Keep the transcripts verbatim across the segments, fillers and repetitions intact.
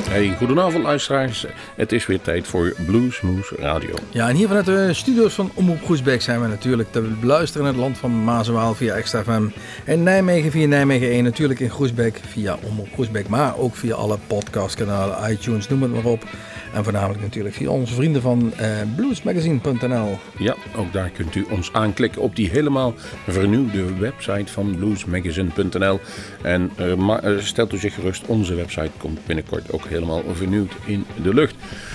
Hey, goedenavond luisteraars. Het is weer tijd voor Bluesmoose Radio. Ja, en hier vanuit de studio's van Omroep Groesbeek zijn we natuurlijk te beluisteren in het land van Maas en Waal via Extra F M. In Nijmegen via Nijmegen één, natuurlijk in Groesbeek via Omroep Groesbeek, maar ook via alle podcastkanalen, iTunes, noem het maar op. En voornamelijk natuurlijk via onze vrienden van uh, bluesmagazine punt n l. Ja, ook daar kunt u ons aanklikken op die helemaal vernieuwde website van bluesmagazine punt n l. En uh, ma- uh, stelt u zich gerust, onze website komt binnenkort ook helemaal vernieuwd in de lucht.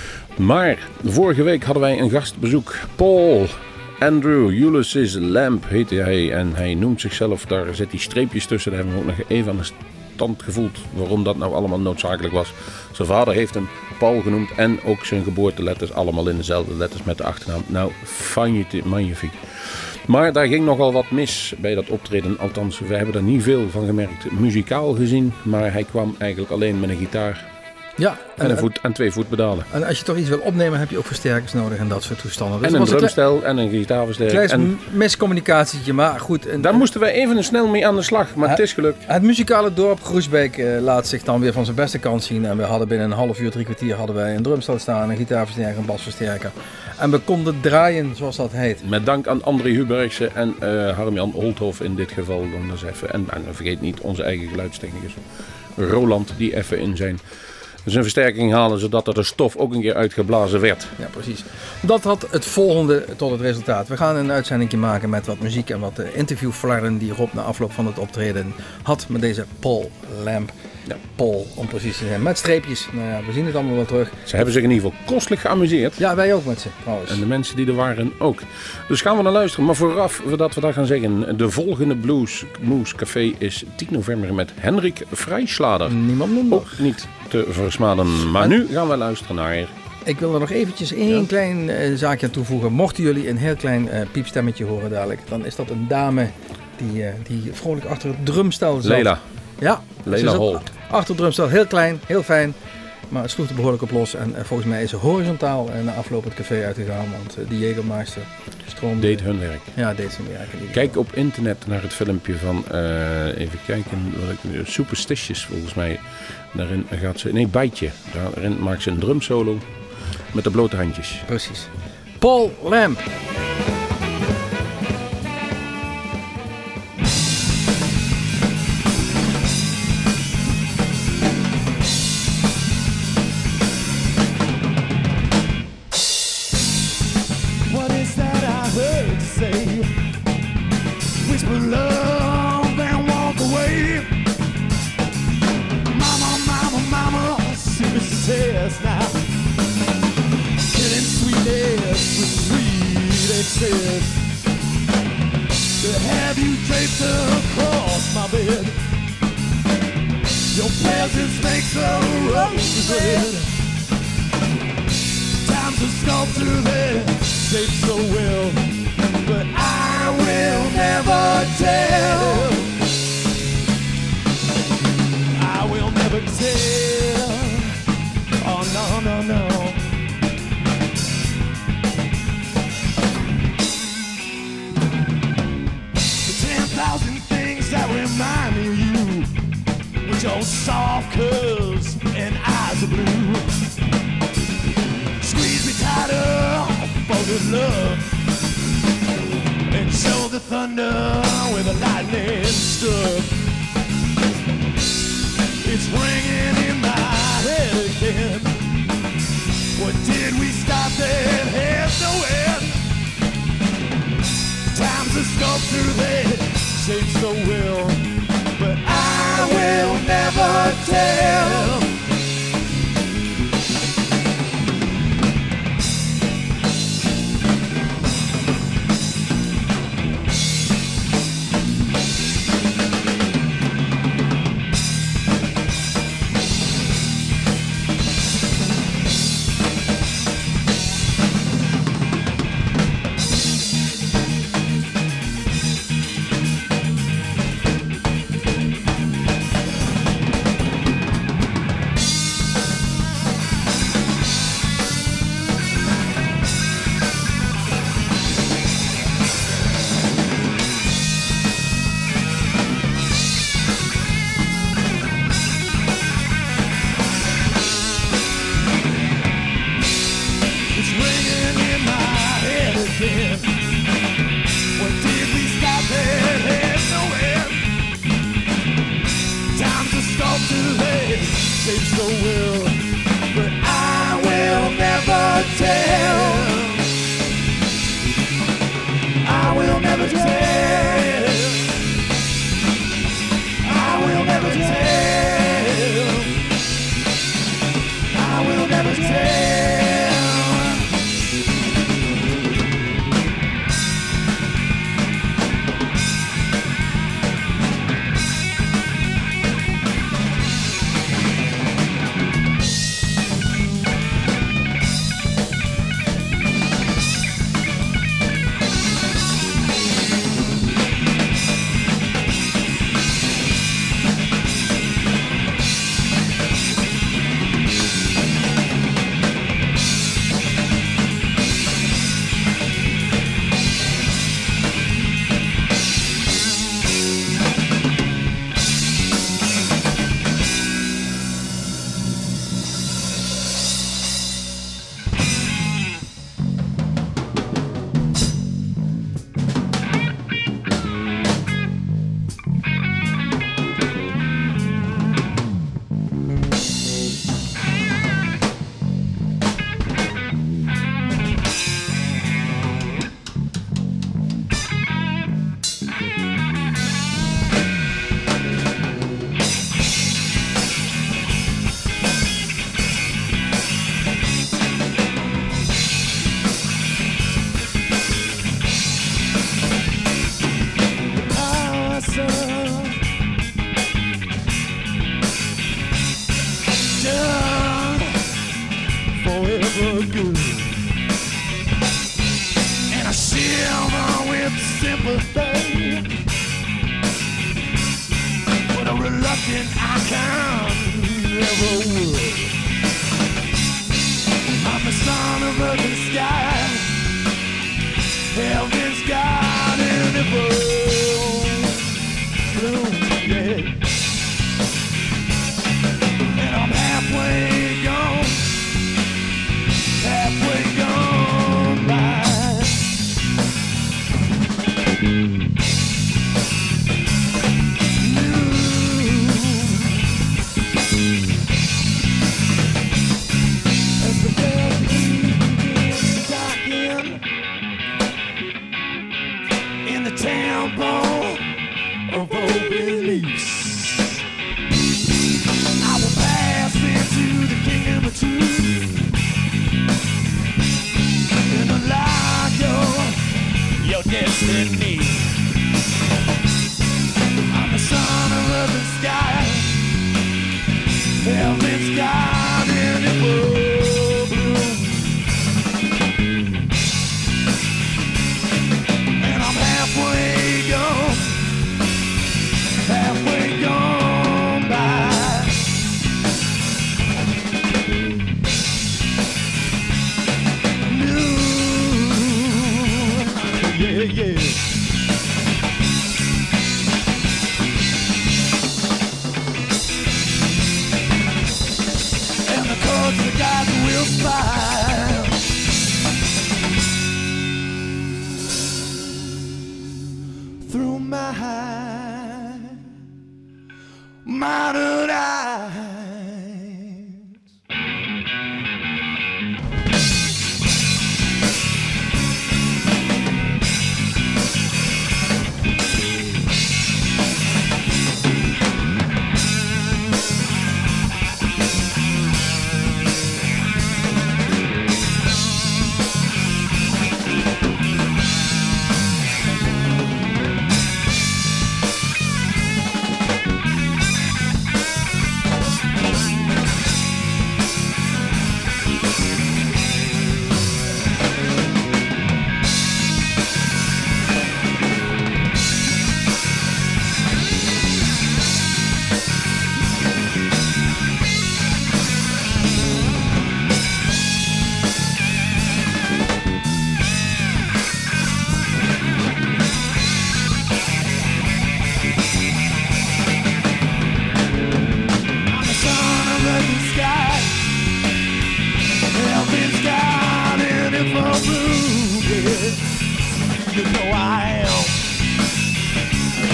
Maar vorige week hadden wij een gastbezoek. Paul Andrew Ulysses Lamb heette hij. En hij noemt zichzelf, daar zet hij streepjes tussen. Daar hebben we ook nog even aan de stand gevoeld waarom dat nou allemaal noodzakelijk was. Zijn vader heeft hem Paul genoemd en ook zijn geboorteletters allemaal in dezelfde letters met de achternaam. Nou, magnifiek. Maar daar ging nogal wat mis bij dat optreden. Althans, we hebben er niet veel van gemerkt muzikaal gezien. Maar hij kwam eigenlijk alleen met een gitaar. Ja, en, en, een voet, en twee voetpedalen. En als je toch iets wil opnemen, heb je ook versterkers nodig en dat soort toestanden. Dus en een drumstel kle- en een gitaarversterker. Klein en miscommunicatietje, maar goed. En, daar en, moesten wij even snel mee aan de slag, maar het, het is gelukt. Het muzikale dorp Groesbeek uh, laat zich dan weer van zijn beste kant zien. En we hadden binnen een half uur, drie kwartier hadden wij een drumstel staan, een gitaarversterker, een basversterker. En we konden draaien, zoals dat heet. Met dank aan André Hubergse en uh, Harm-Jan Olthoff in dit geval. Om dat even. En, en vergeet niet onze eigen geluidstechnicus Roland, die even in zijn... zijn versterking halen, zodat er de stof ook een keer uitgeblazen werd. Ja, precies. Dat had het volgende tot het resultaat. We gaan een uitzending maken met wat muziek en wat interviewflarden die Rob na afloop van het optreden had met deze Paul Lamb. Ja. Paul, om precies te zijn. Met streepjes. Nou ja, we zien het allemaal wel terug. Ze hebben zich in ieder geval kostelijk geamuseerd. Ja, wij ook met ze trouwens. En de mensen die er waren ook. Dus gaan we naar luisteren. Maar vooraf, voordat we dat gaan zeggen. De volgende Bluesmoose Café is tien november met Henrik Vrijslader. Niemand minder. Ook niet te versmaden. Maar en... nu gaan we luisteren naar... Ik wil er nog eventjes één ja. klein uh, zaakje aan toevoegen. Mochten jullie een heel klein uh, piepstemmetje horen dadelijk. Dan is dat een dame die, uh, die vrolijk achter het drumstel zat. Leila. Ja, Leila Hol. Achter het drumstel, heel klein, heel fijn. Maar het sloeg er behoorlijk op los. En uh, volgens mij is ze horizontaal uh, na afloop het café uitgegaan. Want uh, die Jägermeister stroomde... Deed hun werk. Ja, deed zijn werk. Kijk op internet naar het filmpje van... Uh, even kijken. Wat ik, Superstitious volgens mij. Daarin gaat ze... Nee, Bijtje. Daarin maakt ze een drumsolo. Met de blote handjes. Precies. Paul Lamb. girl, but I will never tell. I will never tell. I will never tell. I will never tell.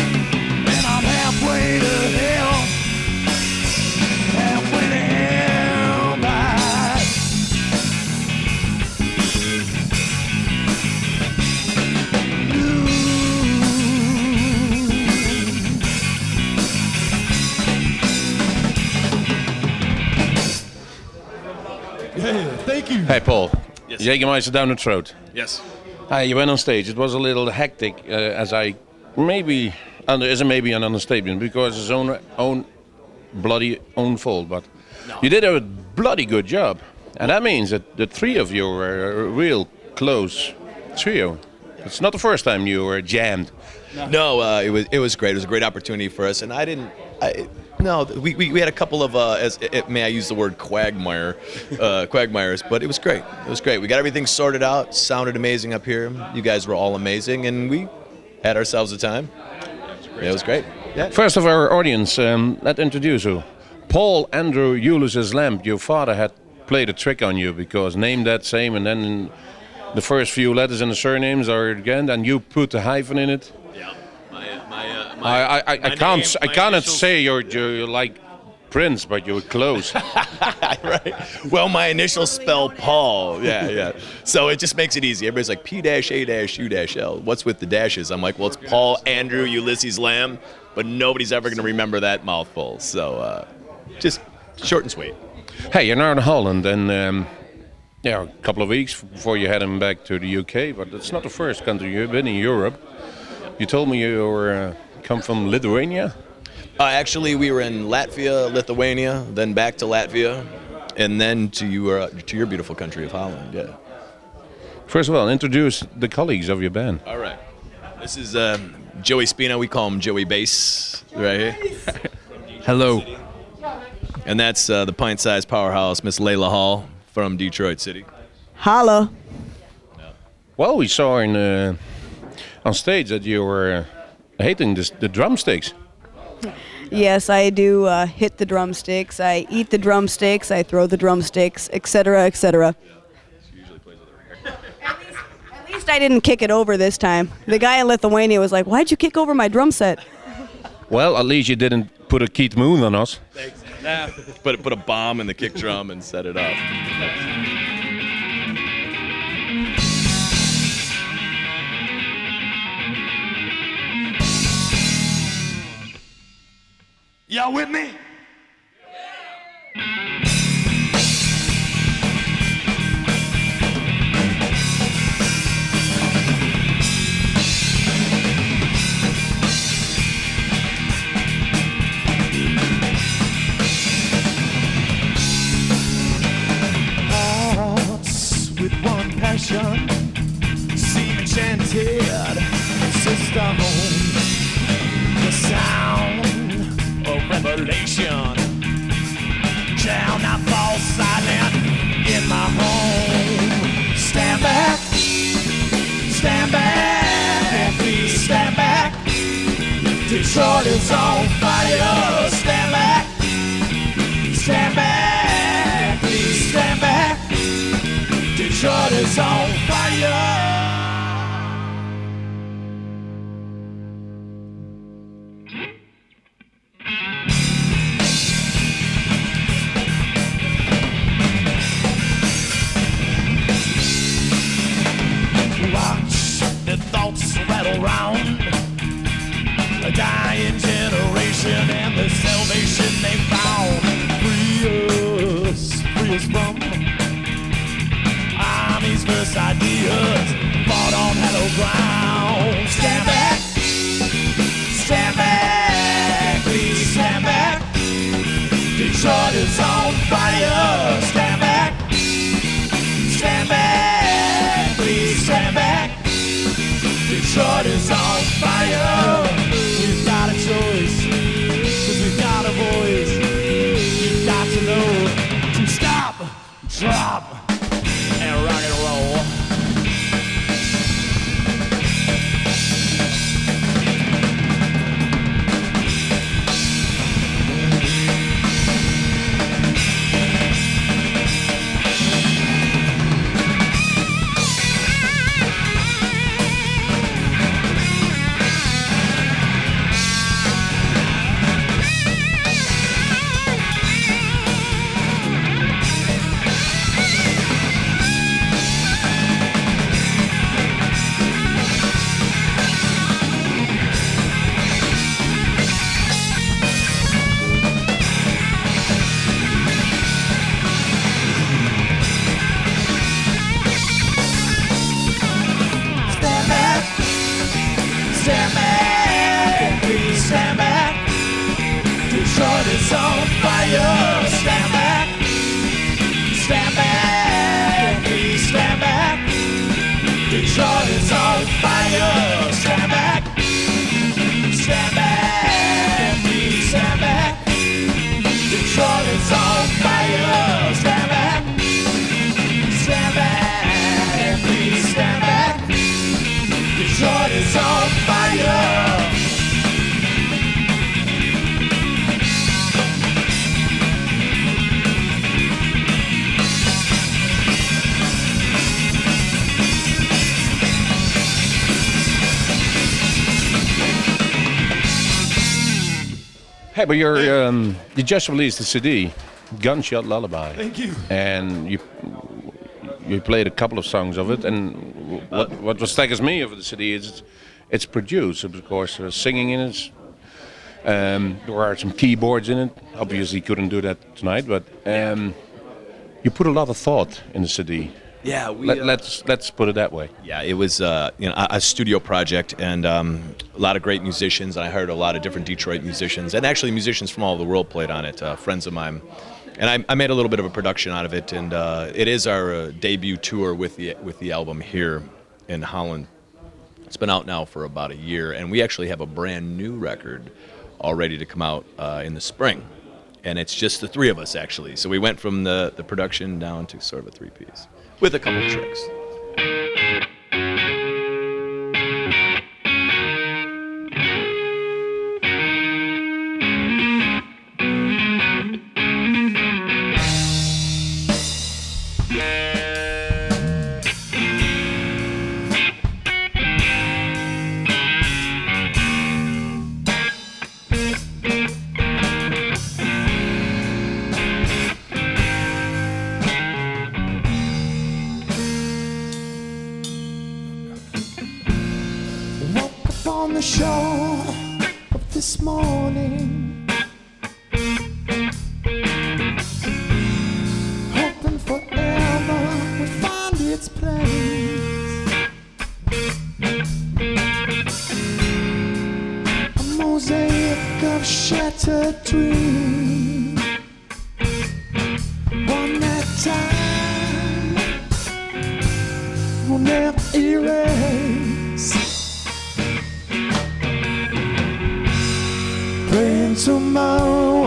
halfway to hell, halfway to hell. Yeah, thank you. Hey, Paul. Yes. Jägermeister down the throat. Yes. Hi, you went on stage. It was a little hectic, uh, as I maybe under is maybe an understatement because it's own own bloody own fault. But No. you did a bloody good job, and that means that the three of you were a real close trio. It's not the first time you were jammed. No, uh, it was it was great. It was a great opportunity for us, and I didn't. I, no, we, we, we had a couple of uh, as it, may I use the word quagmire, uh, quagmires, but it was great. It was great. We got everything sorted out. Sounded amazing up here. You guys were all amazing, and we had ourselves a time. Yeah, it was great. Yeah. First of our audience, um, let's introduce you. Paul Andrew Ulysses Lamb. Your father had played a trick on you because name that same, and then the first few letters in the surnames are again, and you put the hyphen in it. Yeah. My, my, uh, my, I, I, I, my I can't name, I my cannot initials- say you're, you're like Prince, but you're close. Right. Well, my initials spell Paul. Yeah, yeah. So it just makes it easy. Everybody's like P dash A dash U dash L. What's with the dashes? I'm like, well, it's Paul Andrew Ulysses Lamb, but nobody's ever going to remember that mouthful. So uh, just short and sweet. Hey, you're now in Holland, and um, yeah, a couple of weeks before you head him back to the U K. But it's not the first country you've been in Europe. You told me you were uh, come from Lithuania. Uh, actually, we were in Latvia, Lithuania, then back to Latvia, and then to your to your beautiful country of Holland. Yeah. First of all, introduce the colleagues of your band. All right. This is um, Joey Spina. We call him Joey Bass right here. Hello. And that's uh, the pint-sized powerhouse, Miss Layla Hall from Detroit City. Holla. Well, we saw in uh, on stage that you were uh, hating this, the drumsticks. Yes, I do uh, hit the drumsticks. I eat the drumsticks. I throw the drumsticks, et cetera, et cetera. At least, at least I didn't kick it over this time. The guy in Lithuania was like, "Why'd you kick over my drum set?" Well, at least you didn't put a Keith Moon on us. Nah. Put, put a bomb in the kick drum and set it up. Y'all with me? Hearts with one passion, seem enchanted, sister home, the sound of revelation shall not fall silent in my home. Stand back, stand back, please stand back. Detroit is on fire. Stand back, stand back, please stand back. Detroit is on fire. Watch the thoughts rattle round. A dying generation and the salvation they found. Free us, free us from armies versus ideas fought on hallowed ground. Stand back, stand back, please stand back. Detroit is on fire. Stand back, stand back, please stand back. Detroit is on fire. We've got a choice, cause we've got a voice. You've got to know to stop, drop, and rock and roll. is on fire. Stand back, stand back, please stand back. Detroit is on fire. Stand back, stand back, please stand back. Detroit is on fire. Stand back, stand back, please stand back. Detroit is on fire. Hey, but you're um, you just released the C D, Gunshot Lullaby. Thank you. And you you played a couple of songs of it. And what what was staggers me over the C D is it's, it's produced. Of course, there's singing in it. Um, there are some keyboards in it. Obviously, couldn't do that tonight, but um, you put a lot of thought in the C D. Yeah, we, Let, uh, let's let's put it that way. Yeah, it was uh, you know a, a studio project, and um, a lot of great musicians. And I heard a lot of different Detroit musicians, and actually musicians from all over the world played on it. Uh, friends of mine, and I, I made a little bit of a production out of it. And uh, it is our uh, debut tour with the with the album here in Holland. It's been out now for about a year, and we actually have a brand new record all ready to come out uh, in the spring. And it's just the three of us actually. So we went from the the production down to sort of a three piece. With a couple of tricks. On the shore of this morning, hoping forever would find its place. A mosaic of shattered dreams, one that time will never erase. Praying tomorrow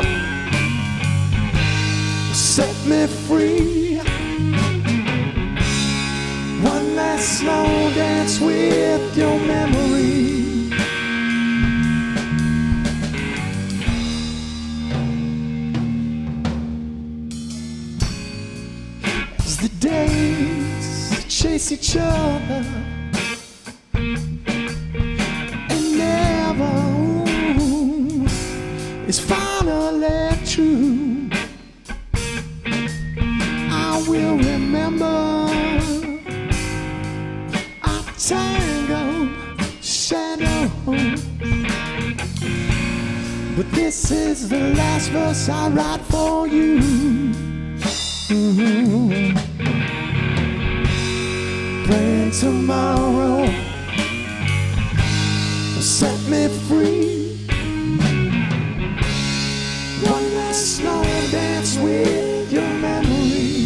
set me free. One last slow dance with your memory. As the days chase each other and never is finally true, I will remember our tangled shadows. But this is the last verse I write for you. Mm-hmm. Praying tomorrow will set me free. One last slow dance with your memory.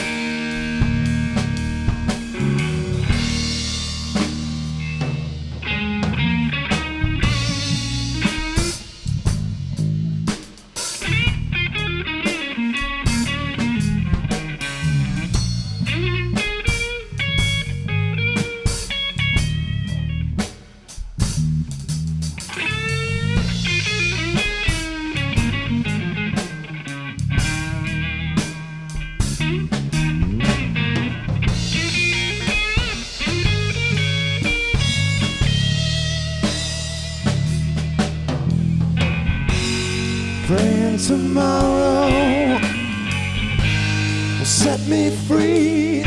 Praying tomorrow will set me free.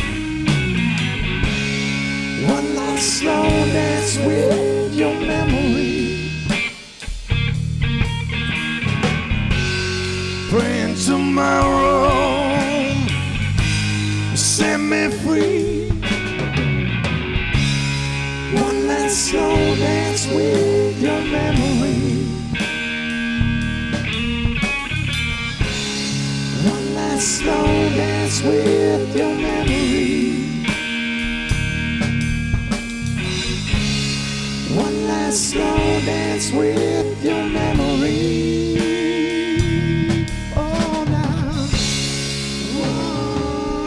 One last slow dance with your memory. Praying tomorrow will set me free. One last slow dance with your memory. last slow dance with your memory. One last slow dance with your memory. Oh, now. Whoa.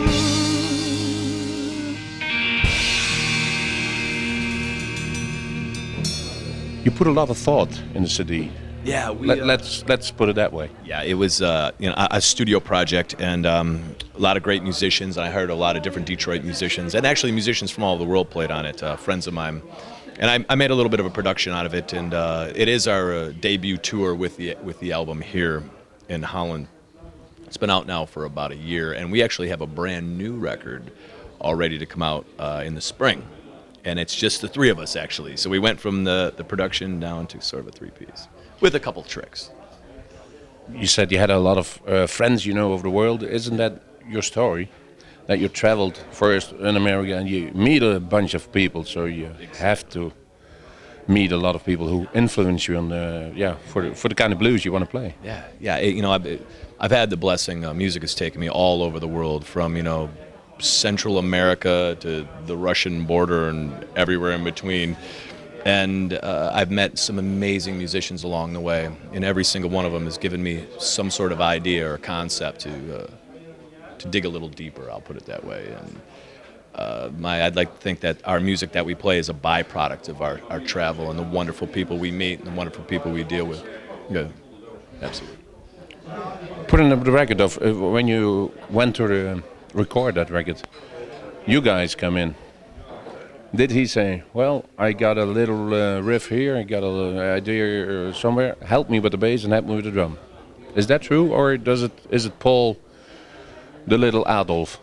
You put a lot of thought in the C D. Yeah, we, Let, uh, let's let's put it that way. Yeah, it was uh, you know a, a studio project, and um, a lot of great musicians. I heard a lot of different Detroit musicians, and actually musicians from all over the world played on it. Uh, friends of mine, and I, I made a little bit of a production out of it. And uh, it is our uh, debut tour with the with the album here in Holland. It's been out now for about a year, and we actually have a brand new record all ready to come out uh, in the spring. And it's just the three of us actually. So we went from the the production down to sort of a three piece with a couple tricks. You said you had a lot of uh, friends, you know, over the world. Isn't that your story? That you traveled first in America and you meet a bunch of people, so you have to meet a lot of people who influence you on the, yeah, for the, for the kind of blues you want to play. Yeah, yeah. It, you know, I've I've had the blessing. Uh, music has taken me all over the world, from you know, Central America to the Russian border and everywhere in between. And uh, I've met some amazing musicians along the way, and every single one of them has given me some sort of idea or concept to uh, to dig a little deeper. I'll put it that way. And uh, my, I'd like to think that our music that we play is a byproduct of our, our travel and the wonderful people we meet and the wonderful people we deal with. Yeah, absolutely. Putting up the record of uh, when you went to uh, record that record, you guys come in. Did he say, well, I got a little uh, riff here, I got a little idea somewhere, help me with the bass and help me with the drum? Is that true, or does it? Is it Paul, the little Adolf?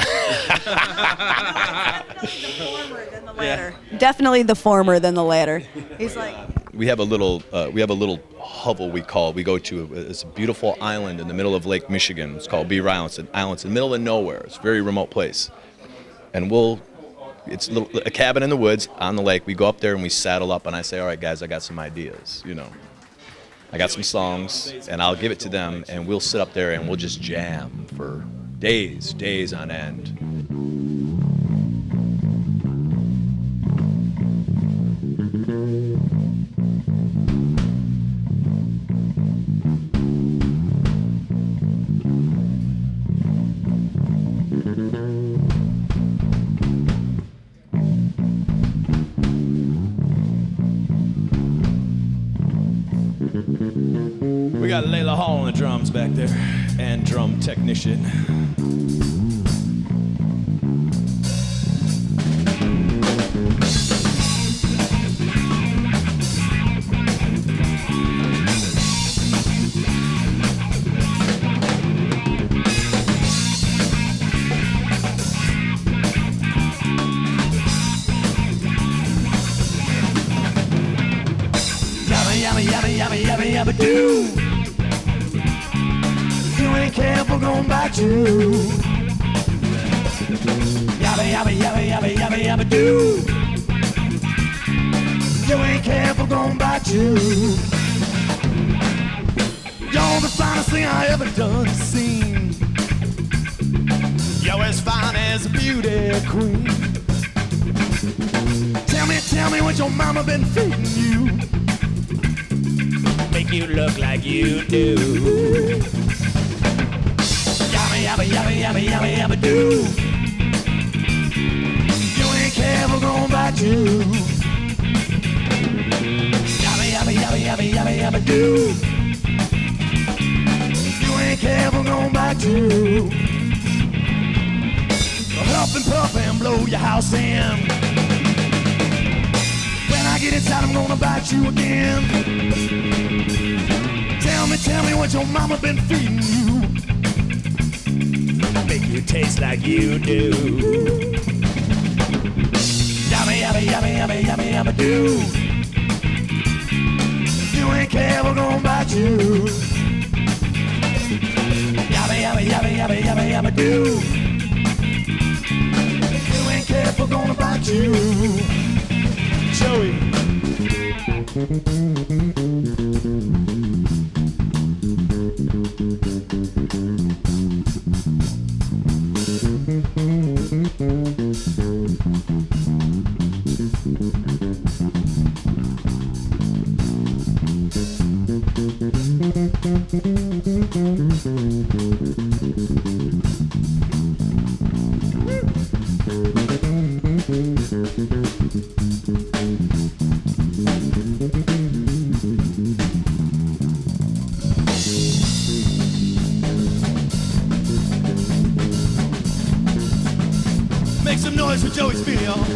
Latter. Definitely the former than the latter. He's like, We have a little uh, we have a little hovel we call it. We go to a, it's a beautiful island in the middle of Lake Michigan. It's called Beaver Island. It's an island. It's in the middle of nowhere. It's a very remote place, and we'll. It's a, little, a cabin in the woods on the lake. We go up there and we saddle up, and I say, all right, guys, I got some ideas, you know. I got some songs, and I'll give it to them, and we'll sit up there and we'll just jam for days, days on end. We got Layla Hall on the drums back there, and drum technician. Yabba yabba do. If you ain't careful, gonna bite you. Yabba yabba yabba yabba yabba yabba do. If you ain't careful, gonna bite you. You're the finest thing I ever done seen. You're as fine as a beauty queen. Tell me, tell me what your mama been feeding you. Make you look like you do. Yabba yabba yabba yabba yabba yabba do. You ain't careful, gonna bite you. Yabba yabba yabba yabba yabba yabba do. You ain't careful, gonna bite you. Huff and puff and blow your house in. When I get inside, I'm gonna bite you again. Tell me, tell me what your mama been feeding you. Make you taste like you do. Yabba yabba yabba yabba yabba yabba do. You ain't careful, gonna bite you. Yabba yabba yabba yabba yabba yabba do. You ain't careful, gonna bite you. Joey. Make some noise for Joey Speedy, y'all.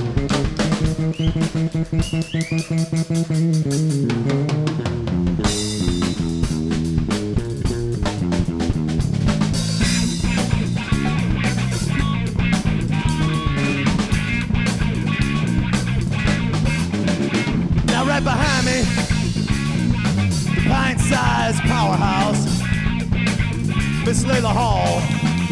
Now right behind me, the pint-sized powerhouse, Miss Layla Hall.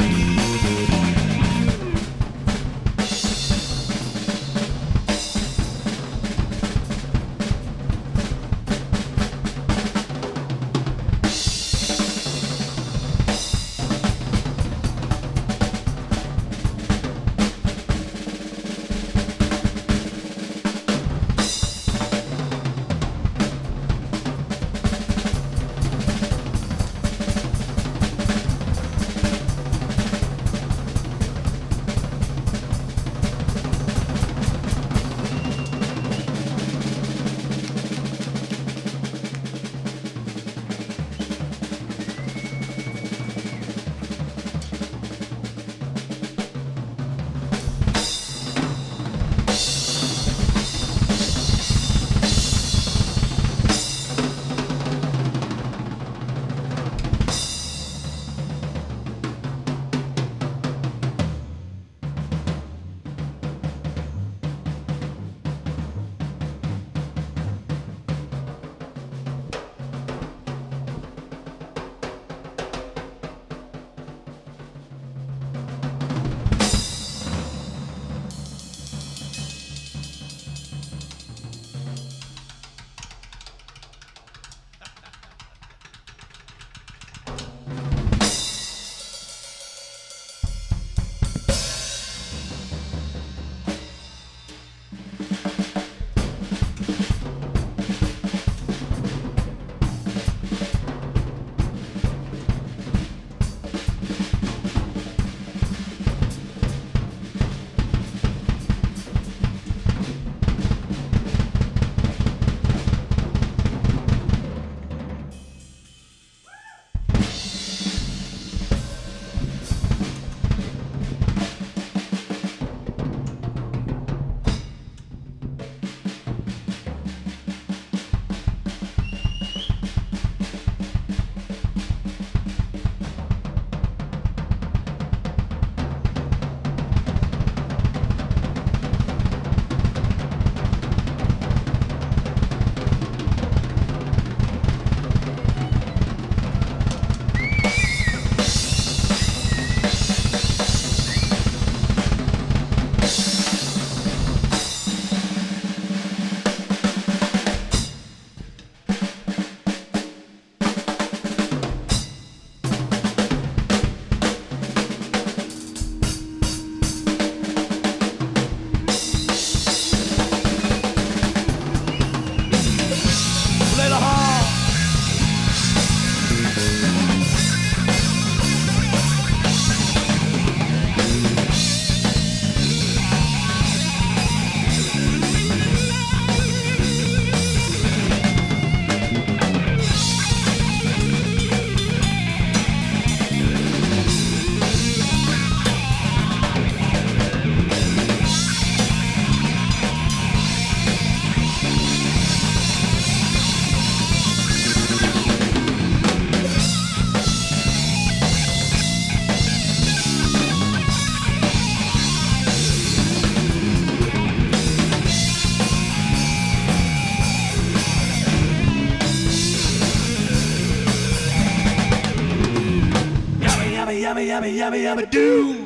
yummy, yummy, yummy, yummy, do.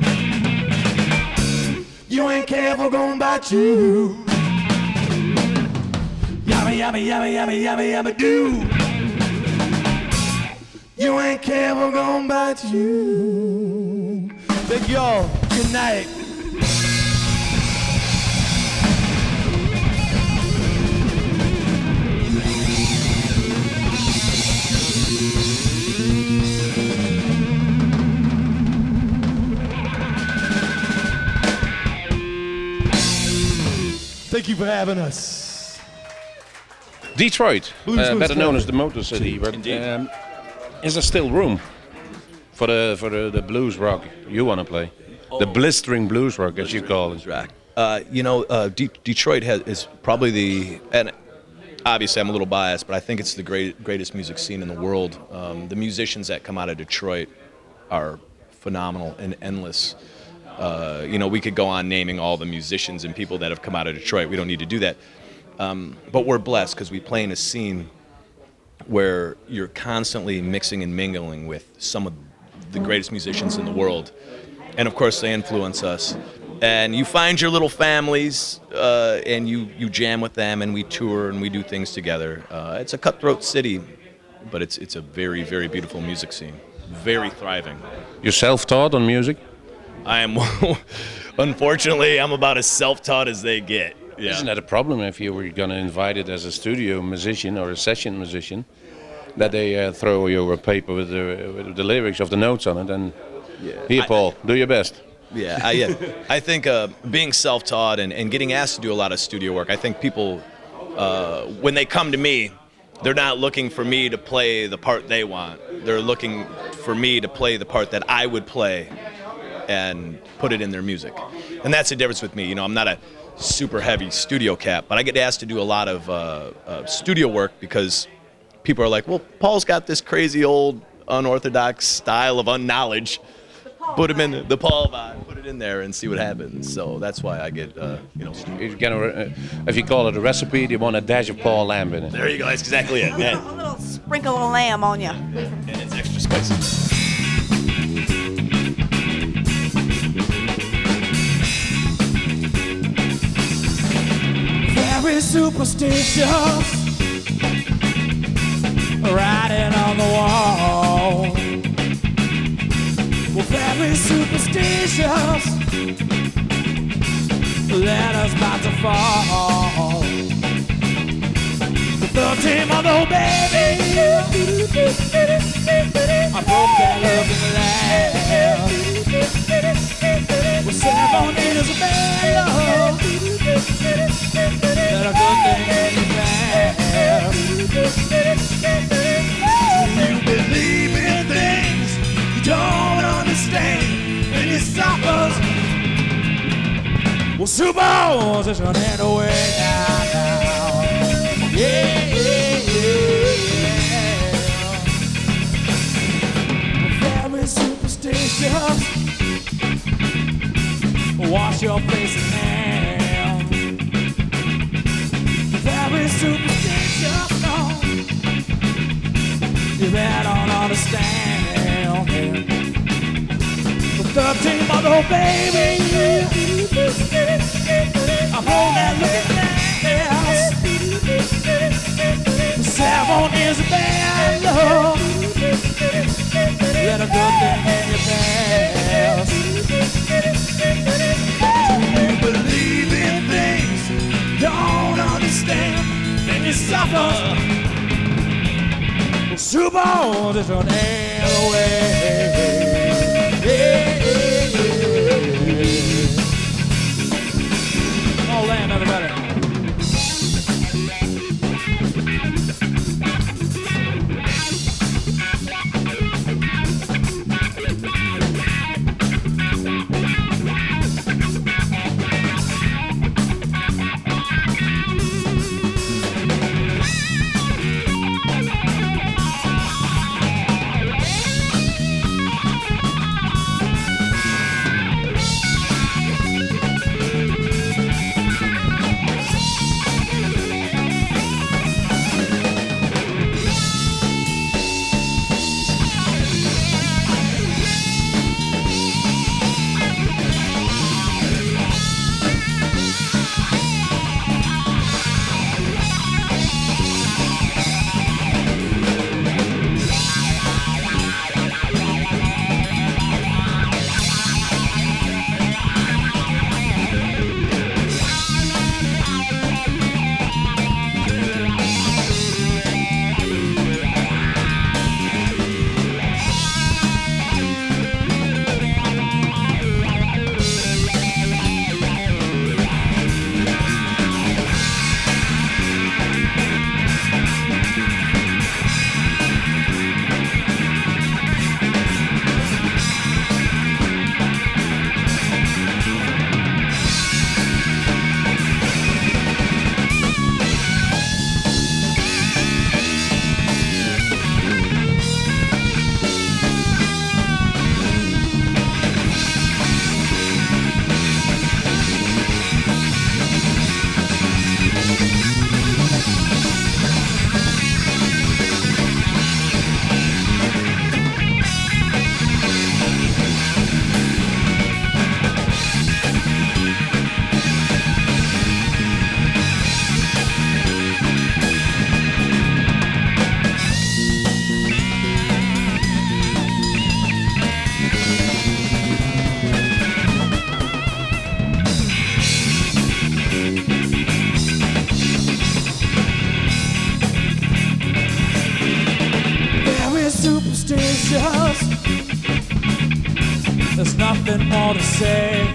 You ain't careful, gon' bite you. Yummy, yummy, yummy, yummy, yummy, yummy, do. You ain't careful, gon' bite you. Thank y'all. Good night. Thank you for having us. Detroit, Blues, uh, blues, better known blues. as the Motor City, but Indeed. um, is there still room for the for the, the blues rock you want to play? The blistering blues rock, as you call it. Rock. Uh, you know, uh, De- Detroit has, is probably the, and obviously I'm a little biased, but I think it's the great, greatest music scene in the world. Um, the musicians that come out of Detroit are phenomenal and endless. Uh, you know, we could go on naming all the musicians and people that have come out of Detroit. We don't need to do that. Um, but we're blessed because we play in a scene where you're constantly mixing and mingling with some of the greatest musicians in the world. And of course, they influence us. And you find your little families, uh, and you, you jam with them, and we tour and we do things together. Uh, it's a cutthroat city, but it's it's a very, very beautiful music scene. Very thriving. You're self-taught on music? I am, unfortunately, I'm about as self-taught as they get. Yeah. Isn't that a problem if you were going to invite it as a studio musician or a session musician, that they uh, throw you a paper with the, with the lyrics of the notes on it and here, Paul, I, do your best. Yeah, I, yeah. I think uh, being self-taught and, and getting asked to do a lot of studio work, I think people, uh, when they come to me, they're not looking for me to play the part they want. They're looking for me to play the part that I would play and put it in their music. And that's the difference with me. You know, I'm not a super heavy studio cat, but I get asked to do a lot of uh, uh, studio work because people are like, well, Paul's got this crazy old unorthodox style of unknowledge. Put him in the, the Paul vibe, put it in there and see what happens. So that's why I get, uh, you know. If you, can, uh, if you call it a recipe, you want a dash of Paul Lamb in it. There you go, that's exactly it. A Yeah. little, a little sprinkle of lamb on you. And it's extra spicy. Very superstitious, writing on the wall. Well, very superstitious, letters about to fall. The thirteen month old baby, I broke that love in the lab. Well, seven is a bad love, that a good thing is bad. You believe in things you don't understand, and you suckers. Well, suppose it's running away now, now. Yeah, yeah, yeah. Very superstitious. Wash your face in hell. Very superstitious, no. You better don't understand. The thirteen month old baby, I'm on that looking ass. The seven is a bad love. Let a good thing in your past. You believe in things don't understand, and you suffer. Well, suppose it's an nail away. Yeah, yeah, yeah. All land, everybody. want to say,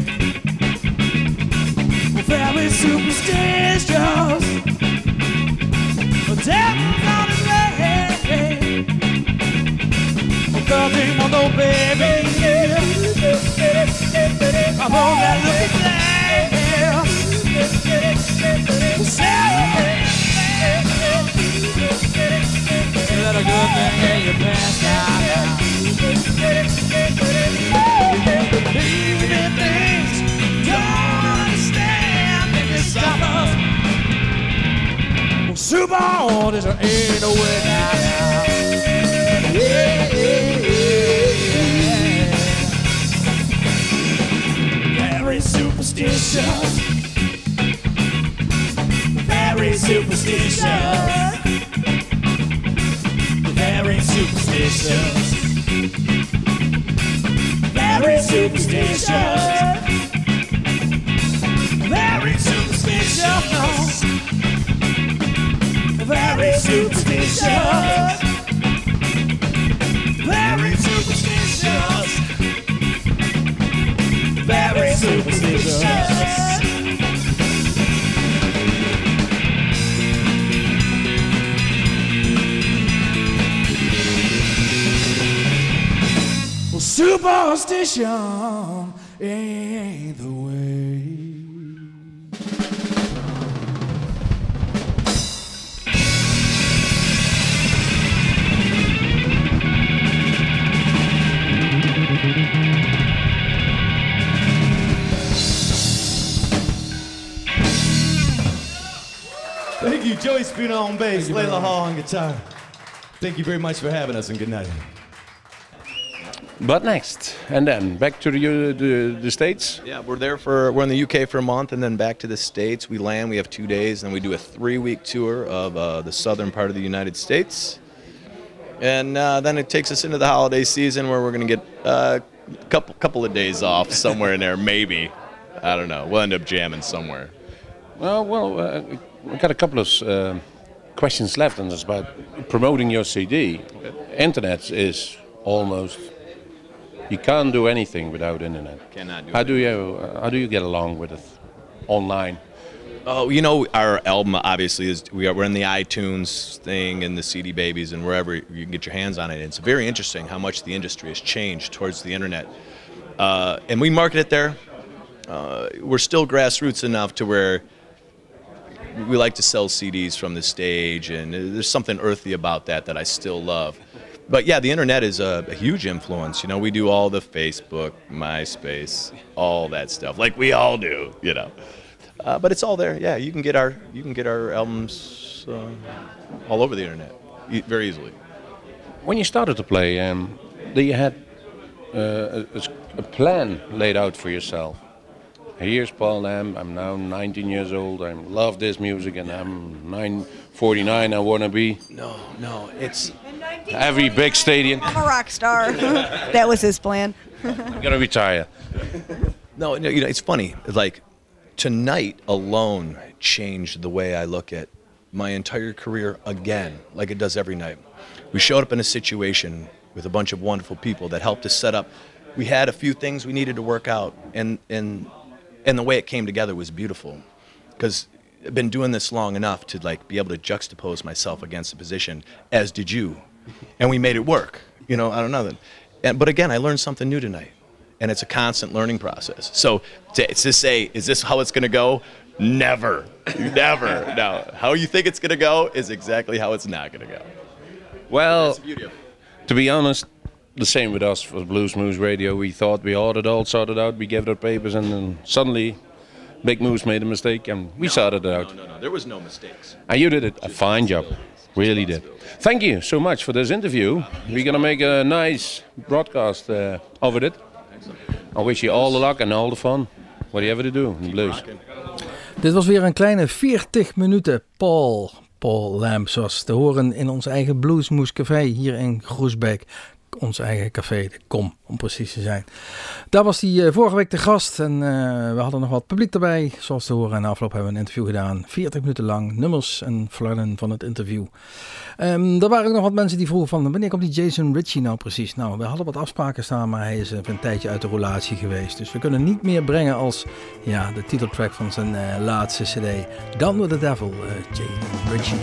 we're very superstitious. The devil's on his way. Oh, girl, do you want no baby? I want that looking glass. Let a good thing in your pants now. You believe in things don't understand. If you stop us, well, super orders ain't no way now. Yeah, yeah, yeah. Very superstitious. Very superstitious. Very superstitious. Very superstitious. Very superstitious. Very superstitious. Very superstitious. Very superstitious. Superstition ain't the way. Thank you, Joey Spino on bass, Layla Hall on guitar. Thank you very much for having us, and good night. But next, and then back to the, uh, the the States. Yeah, we're there for we're in the U K for a month, and then back to the States. We land. We have two days, and we do a three-week tour of uh, the southern part of the United States, and uh, then it takes us into the holiday season where we're gonna get uh, a couple couple of days off somewhere in there. Maybe, I don't know. We'll end up jamming somewhere. Well, well, uh, we got a couple of uh, questions left, and it's about promoting your C D. Internet is almost. You can't do anything without internet. Cannot do How it. do you uh, how do you get along with it online? Oh, you know, our album obviously is we are we're in the iTunes thing and the C D Babies and wherever you can get your hands on it. It's very interesting how much the industry has changed towards the internet, uh, and we market it there. Uh, we're still grassroots enough to where we like to sell C Ds from the stage, and there's something earthy about that that I still love. But yeah, the internet is a, a huge influence. You know, we do all the Facebook, MySpace, all that stuff, like we all do. You know, uh, but it's all there. Yeah, you can get our you can get our albums uh, all over the internet e- very easily. When you started to play, um, did you had uh, a, a plan laid out for yourself? Here's Paul Lamb. I'm now nineteen years old. I love this music, and I'm nine forty-nine. I wanna be No, no, it's every big stadium. I'm a rock star. That was his plan. I'm gonna retire. no, no. You know, it's funny. Like tonight alone changed the way I look at my entire career again, like it does every night. We showed up in a situation with a bunch of wonderful people that helped us set up. We had a few things we needed to work out, and and and the way it came together was beautiful. Because I've been doing this long enough to like be able to juxtapose myself against the position, as did you, and we made it work. You know, I don't know that. And but again, I learned something new tonight, and it's a constant learning process. So to, to say, is this how it's going to go? Never, never. No, how you think it's going to go is exactly how it's not going to go. Well, That's the beauty of it. to be honest, the same with us for Blues Moose Radio. We thought we had it all sorted out. We gave it our papers, and then suddenly, Big Moose made a mistake, and we sorted it out. No, no, no. There was no mistakes. And you did it a fine job. Really did. Thank you so much for this interview. We're going to make a nice broadcast uh, of it. I wish you all the luck and all the fun. Whatever to do in the blues. Dit was weer een kleine veertig minuten Paul, Paul Lamb, zoals te horen in ons eigen Bluesmoes Café hier in Groesbeek. ons eigen café, de Kom, om precies te zijn. Daar was hij uh, vorige week te gast en uh, we hadden nog wat publiek erbij, zoals te horen. En na afloop hebben we een interview gedaan, veertig minuten lang, nummers en flarden van het interview. Um, er waren ook nog wat mensen die vroegen van, wanneer komt die Jason Ritchie nou precies? Nou, we hadden wat afspraken staan, maar hij is uh, een tijdje uit de roulatie geweest. Dus we kunnen niet meer brengen als ja, de titeltrack van zijn uh, laatste cd, Down with the Devil, uh, Jason Ritchie.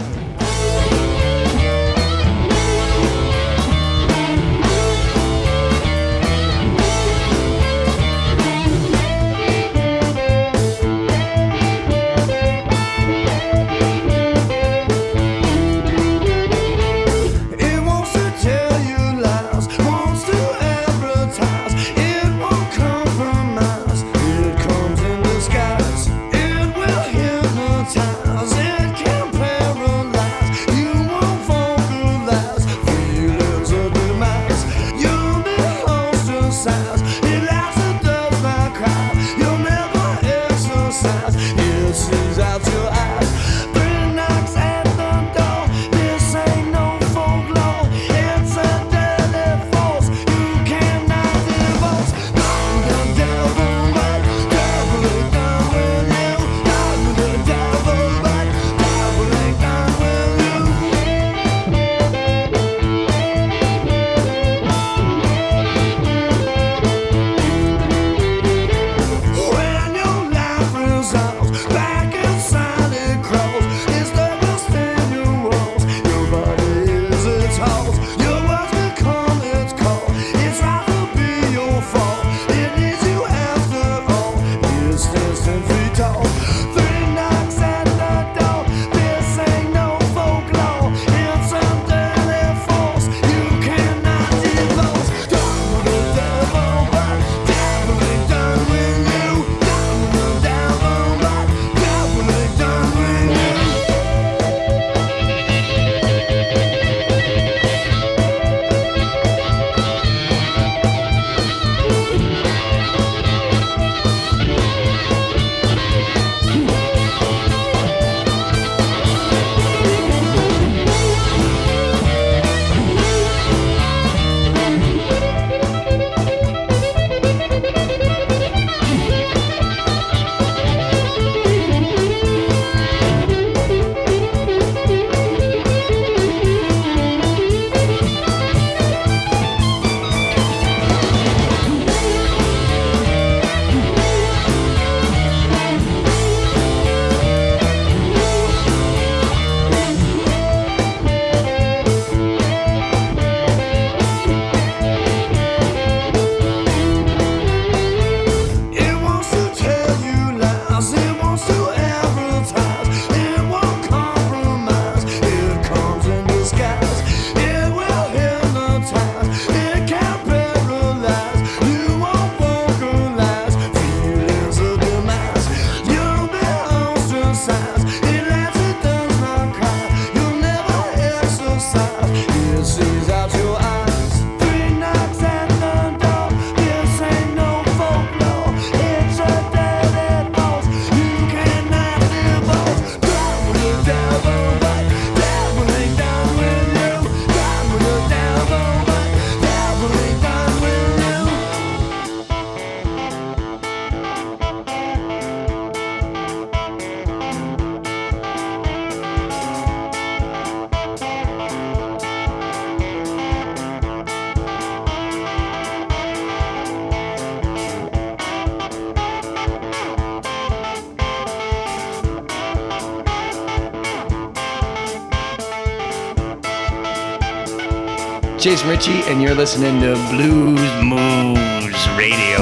Jason Ritchie, and you're listening to Blues Moves Radio.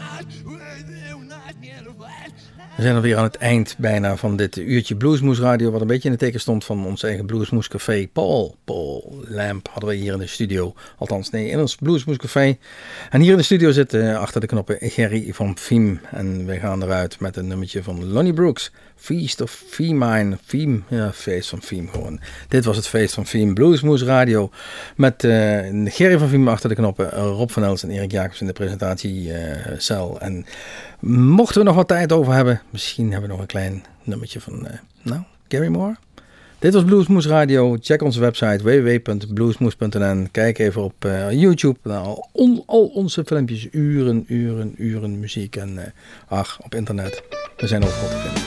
We zijn alweer aan het eind bijna van dit uurtje Bluesmoes Radio, wat een beetje in het teken stond van ons eigen Bluesmoes Café. Paul, Paul Lamp hadden we hier in de studio. Althans, nee, in ons Bluesmoes Café. En hier in de studio zit uh, achter de knoppen Gerry van Fiem. En wij gaan eruit met een nummertje van Lonnie Brooks. Feast of Femine. Fiem, ja, feest van Fiem gewoon. Dit was het feest van Fiem. Bluesmoes Radio. Met uh, Gerry van Fiem achter de knoppen. Rob van Els en Erik Jacobs in de presentatiecel. Uh, en mochten we nog wat tijd over hebben, misschien hebben we nog een klein nummertje van, uh, nou, Gary Moore. Dit was Bluesmoes Radio. Check onze website w w w punt bluesmoes punt n n. Kijk even op uh, YouTube. Nou, al, on, al onze filmpjes, uren, uren, uren muziek. En uh, ach, op internet. We zijn overal te vinden.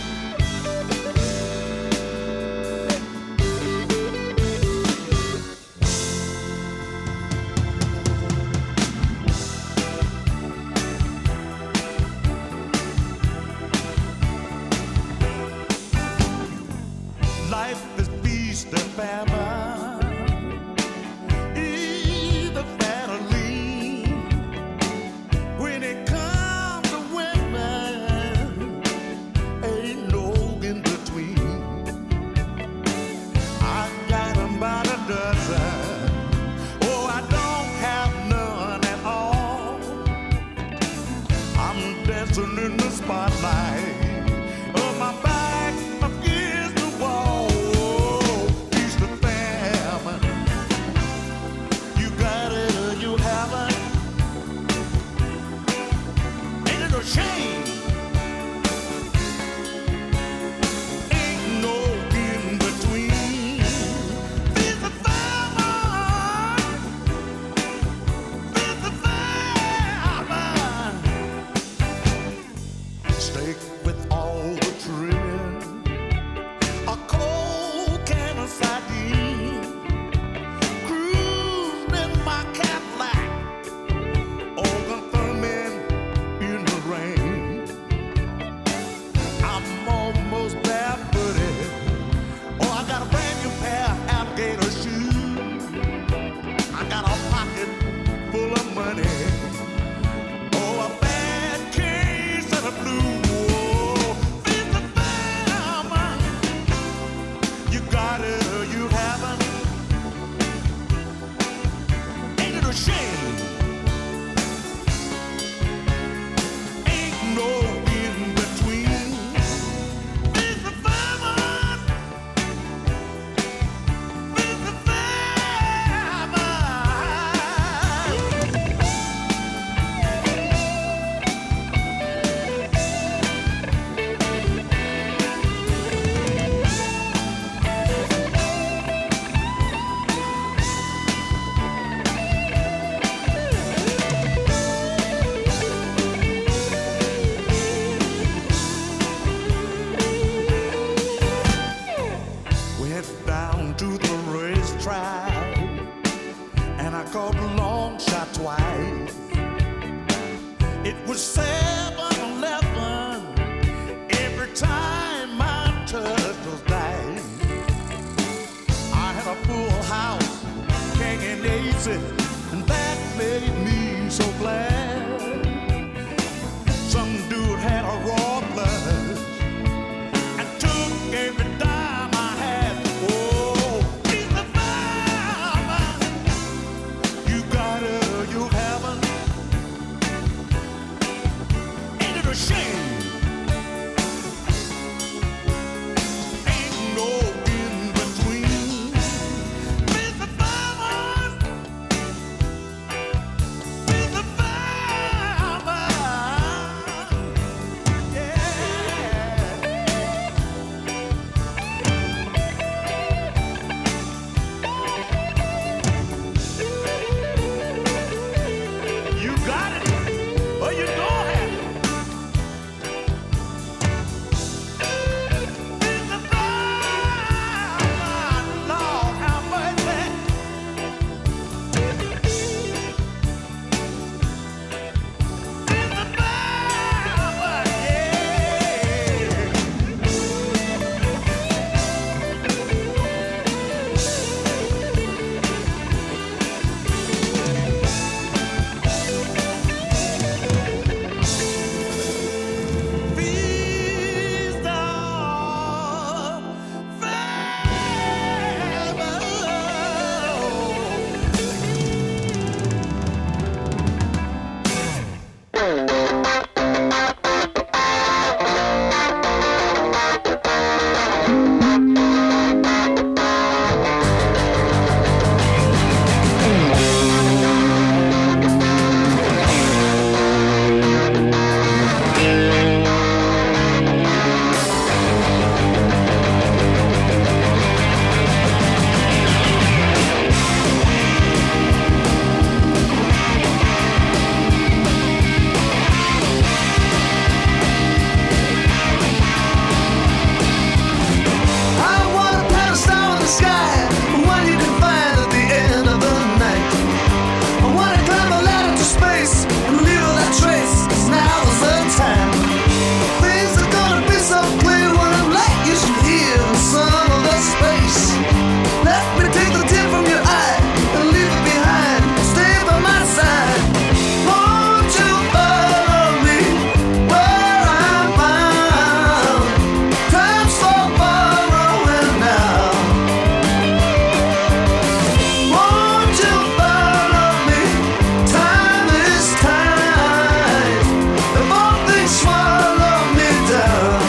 swallow me down.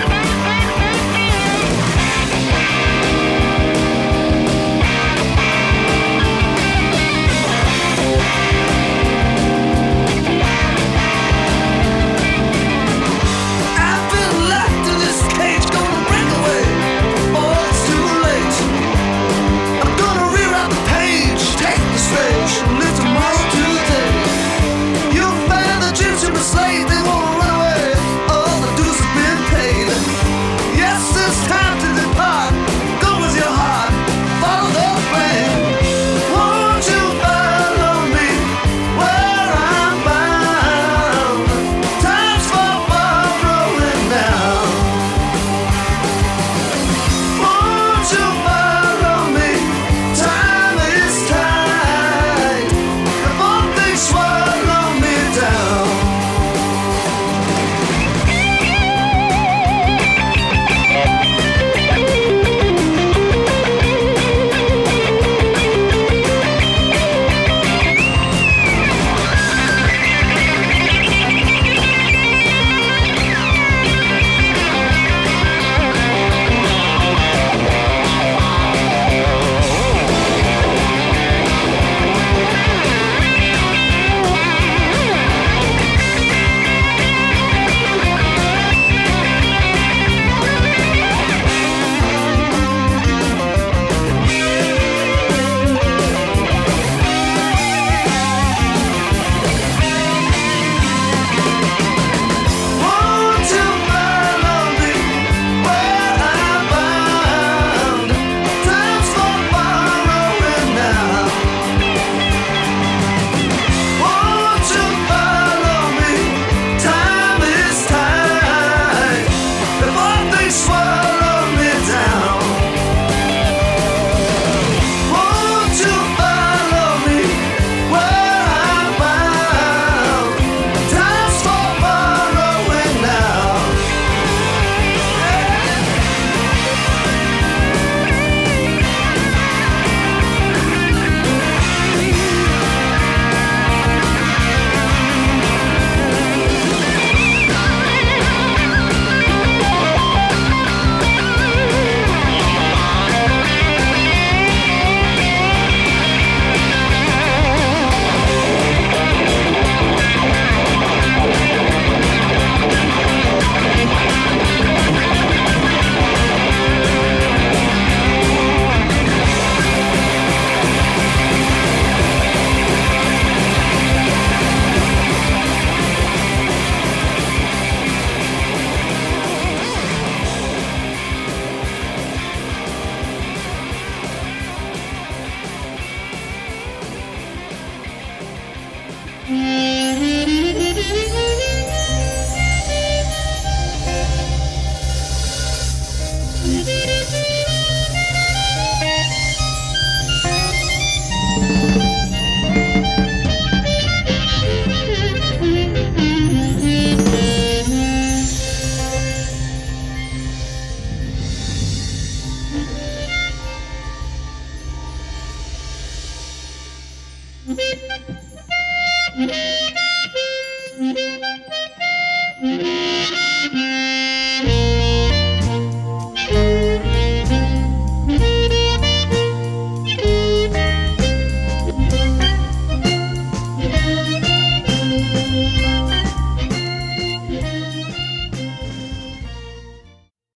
I've been locked in this cage, gonna break away. Oh, it's too late. I'm gonna rewrite the page, take the stage, and live tomorrow today. You'll find the gypsy was late, they won't run away. All the dues have been paid. Yes, it's time to depart. Go with your heart, follow the flame. Won't you follow me where I'm bound? Time's for borrowing now. Won't you follow me? Time is tight. Before they swallow me down. Won't you follow me where I'm bound? Time's for borrowing now. Won't you follow me? Time is tight. Before they swallow me down. Won't you follow me where I'm bound? Time's for borrowing now. Thank you.